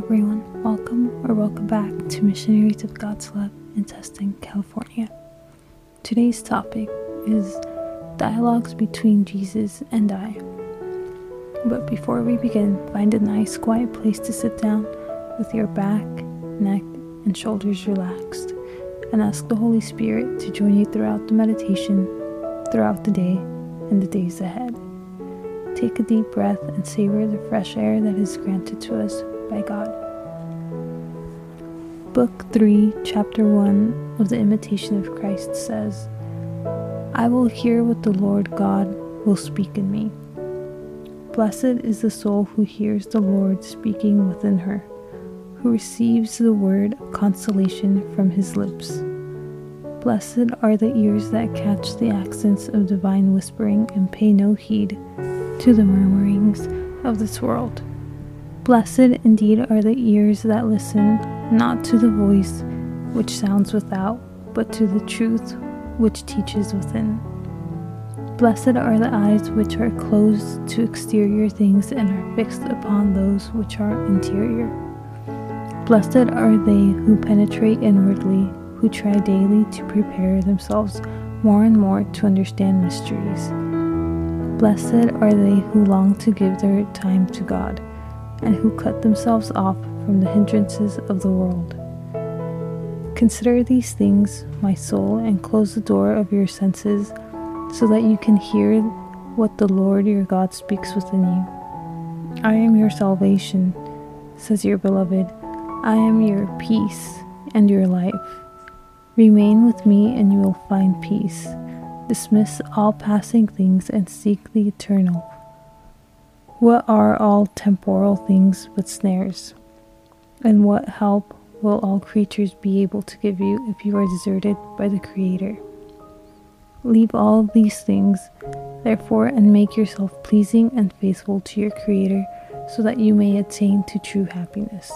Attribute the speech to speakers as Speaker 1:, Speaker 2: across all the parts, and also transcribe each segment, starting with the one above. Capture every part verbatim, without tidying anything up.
Speaker 1: everyone. Welcome or welcome back to Missionaries of God's Love in Tustin, California. Today's topic is dialogues between Jesus and I. But before we begin, find a nice quiet place to sit down with your back, neck, and shoulders relaxed, and ask the Holy Spirit to join you throughout the meditation, throughout the day, and the days ahead. Take a deep breath and savor the fresh air that is granted to us by God. Book three, Chapter one of the Imitation of Christ says, I will hear what the Lord God will speak in me. Blessed is the soul who hears the Lord speaking within her, who receives the word of consolation from his lips. Blessed are the ears that catch the accents of divine whispering and pay no heed to the murmurings of this world. Blessed indeed are the ears that listen not to the voice which sounds without, but to the truth which teaches within. Blessed are the eyes which are closed to exterior things and are fixed upon those which are interior. Blessed are they who penetrate inwardly, who try daily to prepare themselves more and more to understand mysteries. Blessed are they who long to give their time to God, and who cut themselves off from the hindrances of the world. Consider these things, my soul, and close the door of your senses, so that you can hear what the Lord your God speaks within you. I am your salvation, says your beloved. I am your peace and your life. Remain with me and you will find peace. Dismiss all passing things and seek the eternal. What are all temporal things but snares? And what help will all creatures be able to give you if you are deserted by the Creator? Leave all these things, therefore, and make yourself pleasing and faithful to your Creator, so that you may attain to true happiness.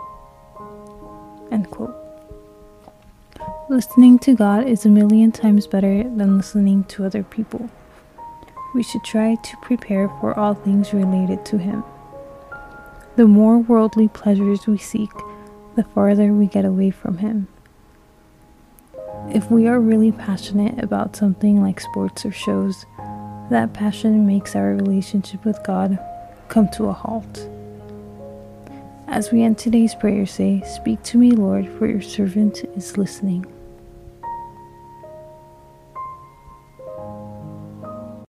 Speaker 1: End quote. Listening to God is a million times better than listening to other people. We should try to prepare for all things related to Him. The more worldly pleasures we seek, the farther we get away from Him. If we are really passionate about something like sports or shows, that passion makes our relationship with God come to a halt. As we end today's prayer, say, Speak to me, Lord, for your servant is listening.